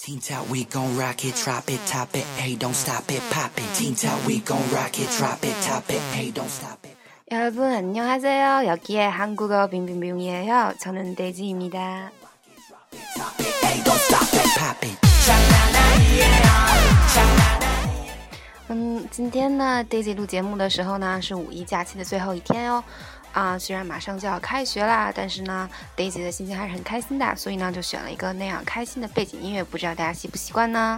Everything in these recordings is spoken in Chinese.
Teen Top, we gon' rock it, drop it, top it, hey, don't stop it, pop it. Teen Top, we gon' rock it, drop it, top it, hey, don't stop it. 여러분 안녕하세요. 여기에 한국어 빙빙빙이에요. 저는 데이지입니다. 今天呢 Daisy 录节目的时候呢是五一假期的最后一天哦。虽然马上就要开学啦，但是呢 Daisy 的心情还是很开心的，所以呢就选了一个那样开心的背景音乐，不知道大家习不习惯呢？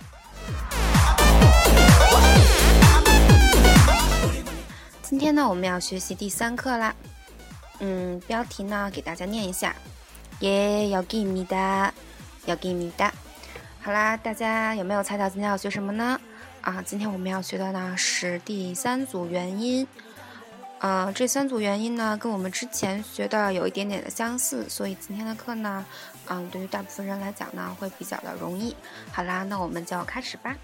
今天呢我们要学习第3课啦。标题呢给大家念一下。여기입니다. 여기입니다. 好啦，大家有没有猜到今天要学什么呢？今天我们要学的呢是第3组元音。这3组元音呢跟我们之前学的有一点点的相似，所以今天的课呢对于大部分人来讲呢会比较的容易。好啦，那我们就开始吧。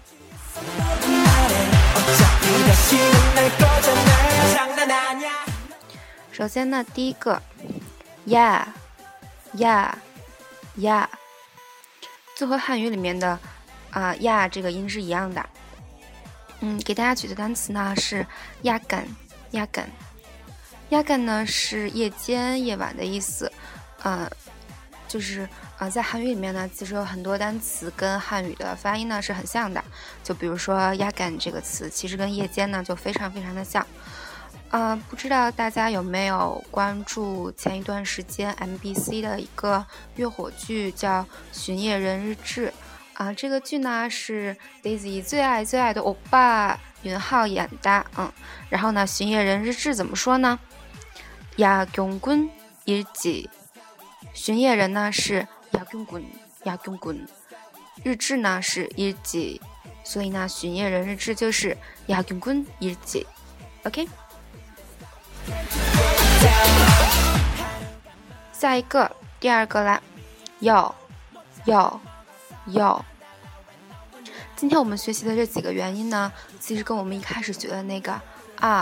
首先呢第一个呀呀呀，就和汉语里面的呀这个音是一样的。给大家举的单词呢是야간 야간 야간呢是夜间夜晚的意思。就是在韩语里面呢其实有很多单词跟汉语的发音呢是很像的，就比如说야간这个词其实跟夜间呢就非常非常的像。不知道大家有没有关注前一段时间 MBC 的一个月火剧叫《巡夜人日志》。这个剧呢是 Daisy 最爱最爱的欧巴윤하演的。然后呢巡夜人日志怎么说呢？야경군 일지。巡夜人呢是야경군，日志呢是일지，所以呢巡夜人日志就是야경군 일지。 OK， 下一个第2个啦，要。今天我们学习的这几个元音呢其实跟我们一开始学的那个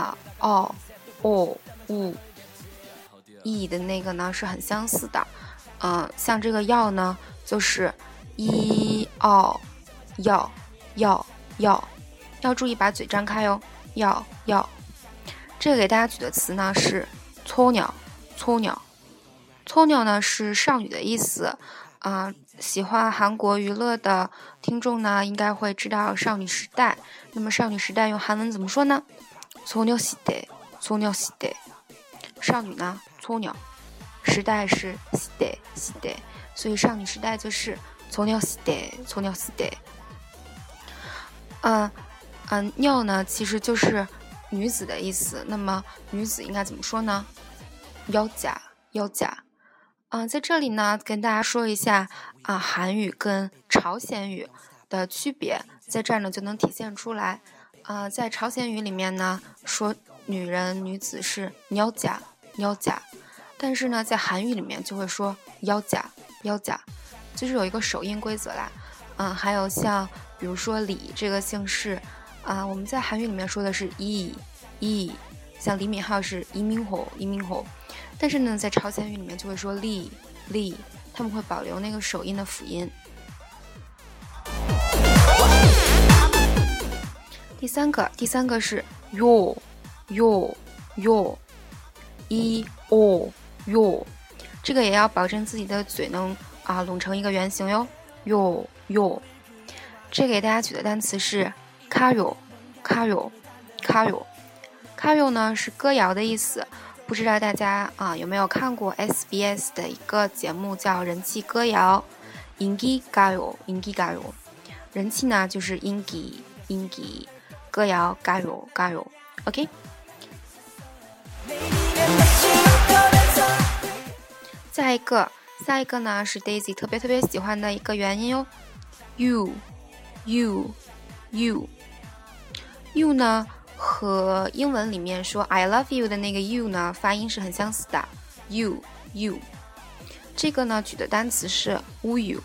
意的那个呢是很相似的。像这个要呢就是要注意把嘴张开哦。要这个给大家举的词呢是撮鸟呢是少女的意思。喜欢韩国娱乐的听众呢应该会知道少女时代。那么少女时代用韩文怎么说呢？소녀시대。少女呢소녀，时代是시대，所以少女时代就是소녀시대。尿呢其实就是女子的意思，那么女子应该怎么说呢？여자。在这里呢跟大家说一下韩语跟朝鲜语的区别，在这儿呢就能体现出来。在朝鲜语里面呢说女人女子是여자，但是呢在韩语里面就会说여자，就是有一个首音规则啦。还有像比如说李这个姓氏我们在韩语里面说的是이，像李敏镐是이민호，但是呢在朝鲜语里面就会说리，他们会保留那个首音的辅音。第三个是요，这个也要保证自己的嘴能拢成一个圆形哟。요，这个给大家举的单词是가요呢是歌谣的意思。不知道大家有没有看过 SBS 的一个节目叫人气歌谣。인기가요，人气呢就是인기，歌谣가요。 OK， 下一个呢是 Daisy 特别喜欢的一个元音哟。you 呢和英文里面说 I love you 的那个 you 呢发音是很相似的。you 这个呢举的单词是우유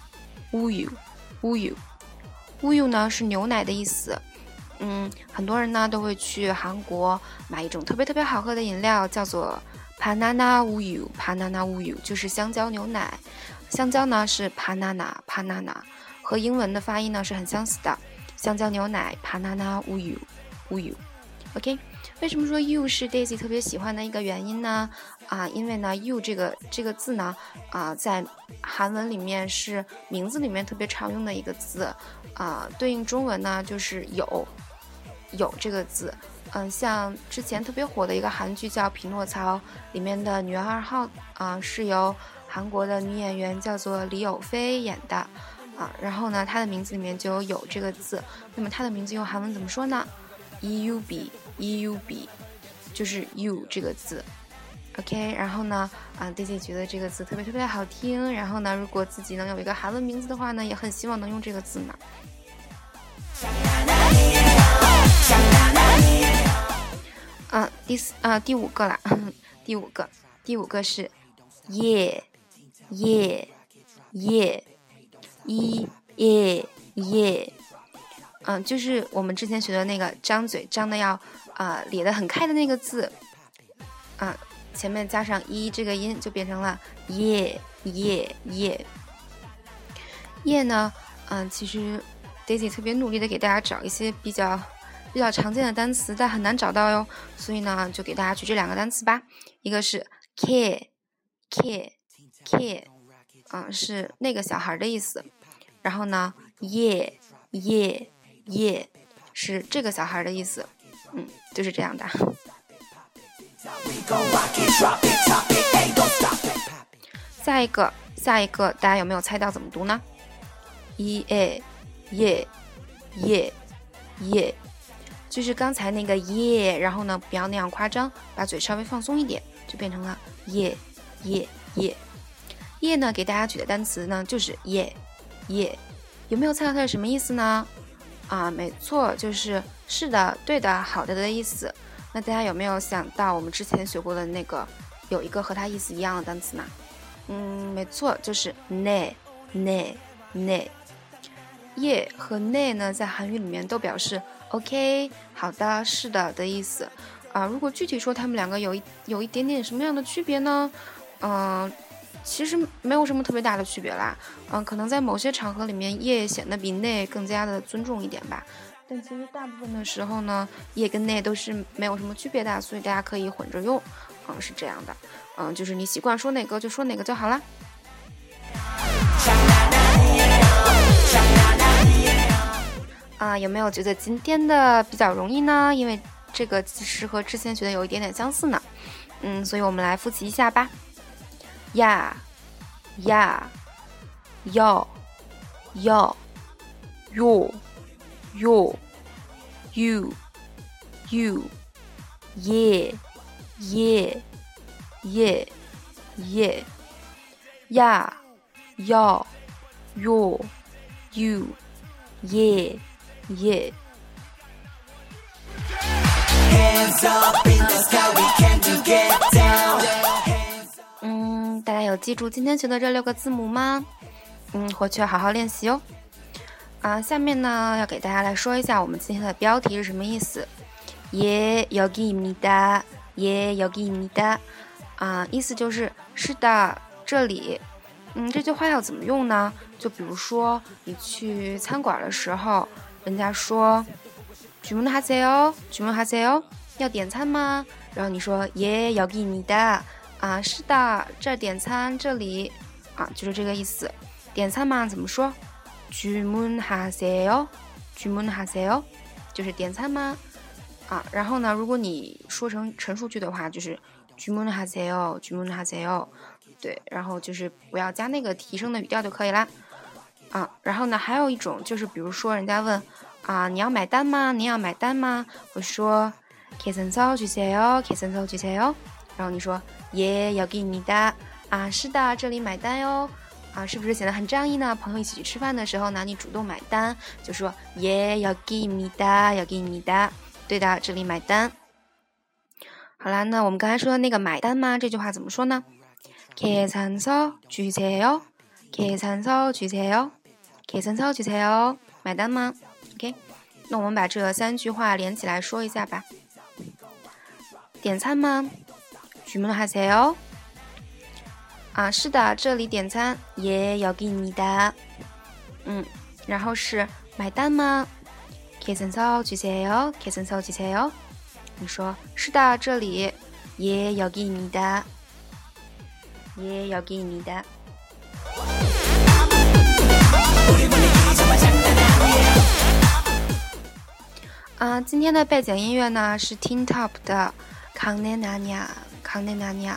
呢是牛奶的意思。很多人呢都会去韩国买一种特别好喝的饮料，叫做바나나 우유， 就是香蕉牛奶。香蕉呢是바나나， 和英文的发音呢是很相似的，香蕉牛奶 banana uyu uyu。 OK， 为什么说 you 是 Daisy 特别喜欢的一个原因呢？因为呢 you 这个字呢在韩文里面是名字里面特别常用的一个字，对应中文呢就是有这个字。像之前特别火的一个韩剧叫《匹诺曹》，里面的女二号是由韩国的女演员叫做李友菲演的然后呢她的名字里面就有这个字。那么她的名字用韩文怎么说呢？ EUB 就是 you 这个字。 OK， 然后呢Daisy 觉得这个字特别特别好听，然后呢如果自己能有一个韩文名字的话呢，也很希望能用这个字呢。第五个啦，第五个是耶，就是我们之前学的那个张嘴张的要咧得很开的那个字，前面加上一这个音就变成了耶呢。其实 Daisy 特別努力的给大家找一些比较常见的单词，但很难找到哟，所以呢就给大家举这两个单词吧。一个是 care， 是那个小孩的意思。然后呢耶是这个小孩的意思。就是这样的。下一个大家有没有猜到怎么读呢？耶，就是刚才那个耶，然后呢不要那样夸张，把嘴稍微放松一点，就变成了耶。耶呢给大家举的单词呢就是耶，有没有猜到它是什么意思呢？没错，就是是的、对的、好的的意思。那大家有没有想到我们之前学过的那个有一个和它意思一样的单词呢？没错，就是네。耶和네呢在韩语里面都表示 OK 好的是的的意思。如果具体说他们两个有一点点什么样的区别呢？其实没有什么特别大的区别啦。可能在某些场合里面耶显得比네更加的尊重一点吧。但其实大部分的时候呢，耶跟네都是没有什么区别的，所以大家可以混着用。是这样的。就是你习惯说哪个就说哪个就好啦。有没有觉得今天的比较容易呢？因为这个其实和之前学的有一点点相似呢。所以我们来复习一下吧。呀，要，哟，you，耶，呀，要，哟，you，耶。大家有记住今天学的这6个字母吗？回去要好好练习哦。下面呢要给大家来说一下我们今天的标题是什么意思。예 여기입니다，意思就是是的，这里。这句话要怎么用呢？就比如说你去餐馆的时候，人家说주문하세요，要点餐吗？然后你说예 여기입니다，是的，这儿点餐，这里就是这个意思。点餐嘛怎么说？주문하세요，就是点餐吗？然后呢，如果你说成陈述句的话，就是주문하세요。对，然后就是不要加那个提升的语调就可以啦。然后呢，还有一种就是，比如说人家问你要买单吗？你要买单吗？我说계산서 주세요。然后你说예 여기입니다。是的，这里买单哟。是不是显得很仗义呢？朋友一起去吃饭的时候呢，你主动买单，就说예 여기입니다。对的，这里买单。好啦，那我们刚才说的那个买单吗？这句话怎么说呢？계산서 주세요，买单吗 ？OK， 那我们把这3句话连起来说一下吧。点餐吗？주문하세요。是的，这里点餐。예 여기입니다。 然后是买单吗？계산서 주세요. 계산서 주세요. 你说是的，这里。예, 여기입니다. 예, 여기입니다. 今天的背景音乐呢是 Teen Top 的강내 나냐 강내 나냐。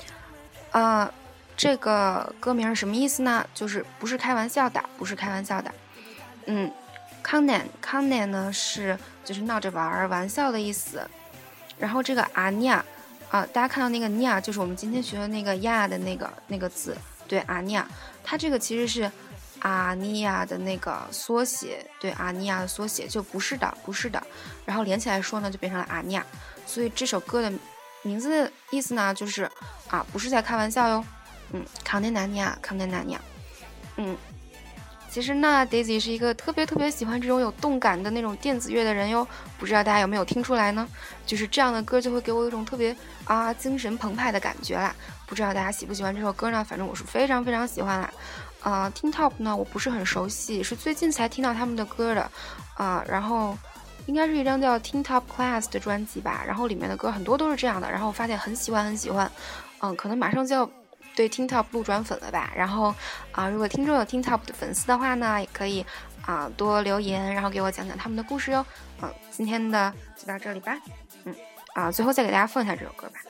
这个歌名是什么意思呢？就是不是开玩笑的，不是开玩笑的。강내呢是就是闹着玩笑的意思。然后这个아니야大家看到那个냐就是我们今天学的那个呀的那个字，对아니야，它这个其实是阿尼亚的那个缩写，对阿尼亚的缩写，就不是的，不是的，然后连起来说呢，就变成了阿尼亚。所以这首歌的名字的意思呢，就是不是在开玩笑哟。康内纳尼亚，康内纳尼亚。其实呢 ，Daisy 是一个特别喜欢这种有动感的那种电子乐的人哟。不知道大家有没有听出来呢？就是这样的歌就会给我一种特别精神澎湃的感觉啦。不知道大家喜不喜欢这首歌呢？反正我是非常喜欢啦。Teen Top 呢，我不是很熟悉，是最近才听到他们的歌的，然后应该是一张叫 Teen Top Class 的专辑吧，然后里面的歌很多都是这样的，然后我发现很喜欢，可能马上就要对 Teen Top 路转粉了吧，然后如果听众有 Teen Top 的粉丝的话呢，也可以多留言，然后给我讲讲他们的故事哟。今天的就到这里吧，最后再给大家放一下这首歌吧。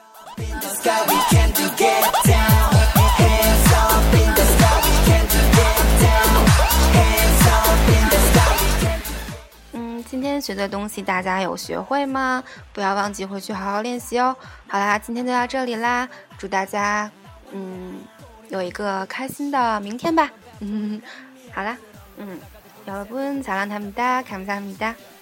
今天学的东西大家有学会吗？不要忘记回去好好练习哦。好啦，今天就到这里啦，祝大家有一个开心的明天吧。好啦，여러분 잘한답니다. 감사합니다.